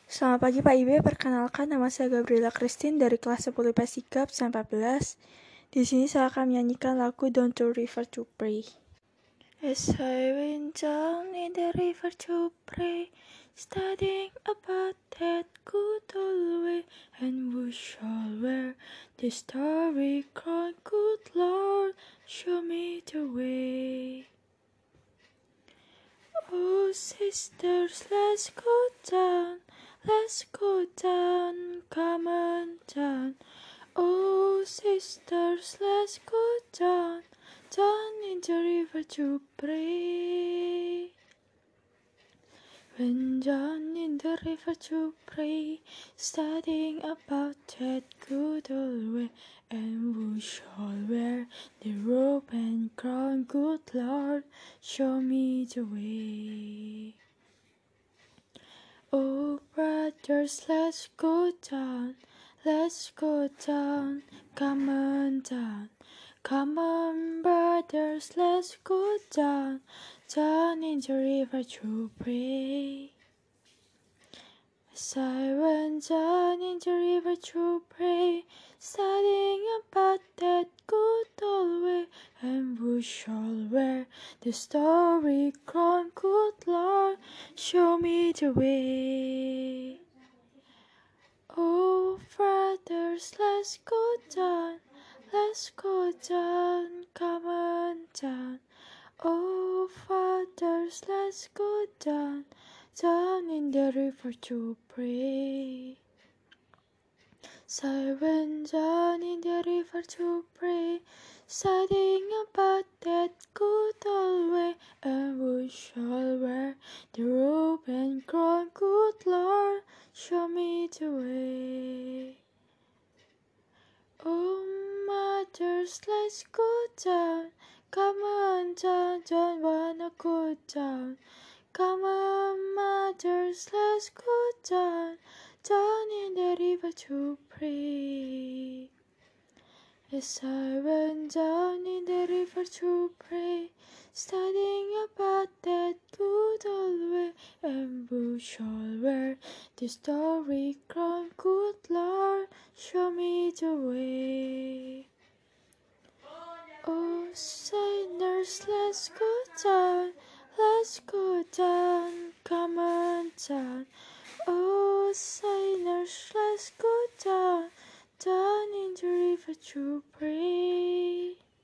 Selamat pagi Pak Ibe, perkenalkan nama saya Gabriela Christine dari kelas 10 IPA Sigap 14. Di sini saya akan menyanyikan lagu Down to River to Pray. As I went down in the river to pray, studying about that good old way, and who shall wear the starry crown, good Lord, show me the way. Oh sisters, let's go down, come on down. Oh sisters, let's go down in the river to pray. Went down in the river to pray, studying about that good old way, and who shall wear the robe and crown, good Lord, show me the way. Oh brothers, let's go down, come on down. Come on brothers, let's go down in the river to pray. As I went down in the river to pray, studying about that good old way, and who shall wear the starry crown, good Lord, show me the way. Oh brothers, let's go down, come on down. Oh fathers, let's go down in the river to pray. So I went down in the river to pray, studying about that good old way, and who shall wear the robe and crown, good Lord, show me the way. Oh mothers, let's go down, come on down, don't wanna go down. Come on mothers, let's go down in the river to pray. As I went down in the river to pray, studying about that good old way, and who shall wear the starry crown, good Lord, show me the way. Oh sinners, let's go down, come on down. Oh sinners, let's go down in the river to pray.